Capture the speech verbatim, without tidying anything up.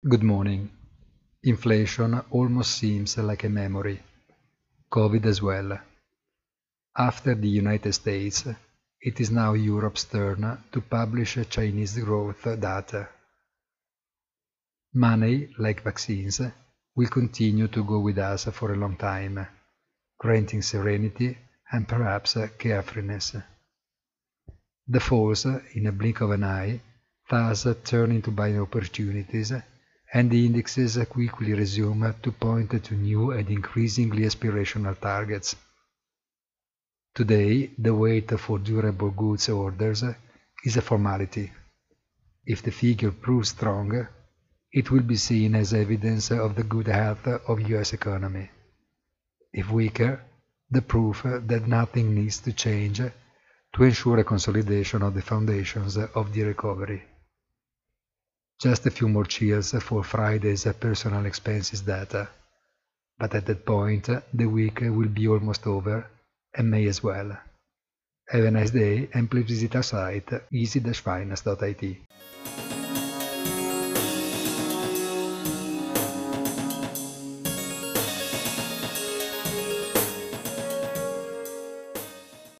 Good morning. Inflation almost seems like a memory. Covid as well. After the United States, it is now Europe's turn to publish Chinese growth data. Money, like vaccines, will continue to go with us for a long time, granting serenity and perhaps carefreeness. The falls, in a blink of an eye, thus turn into buying opportunities, and the indexes quickly resume to point to new and increasingly aspirational targets. Today, the wait for durable goods orders is a formality. If the figure proves strong, it will be seen as evidence of the good health of U S economy. If weaker, the proof that nothing needs to change to ensure a consolidation of the foundations of the recovery. Just a few more chills for Friday's personal expenses data, but at that point the week will be almost over, and may as well. Have a nice day and please visit our site easy dash finance dot I T.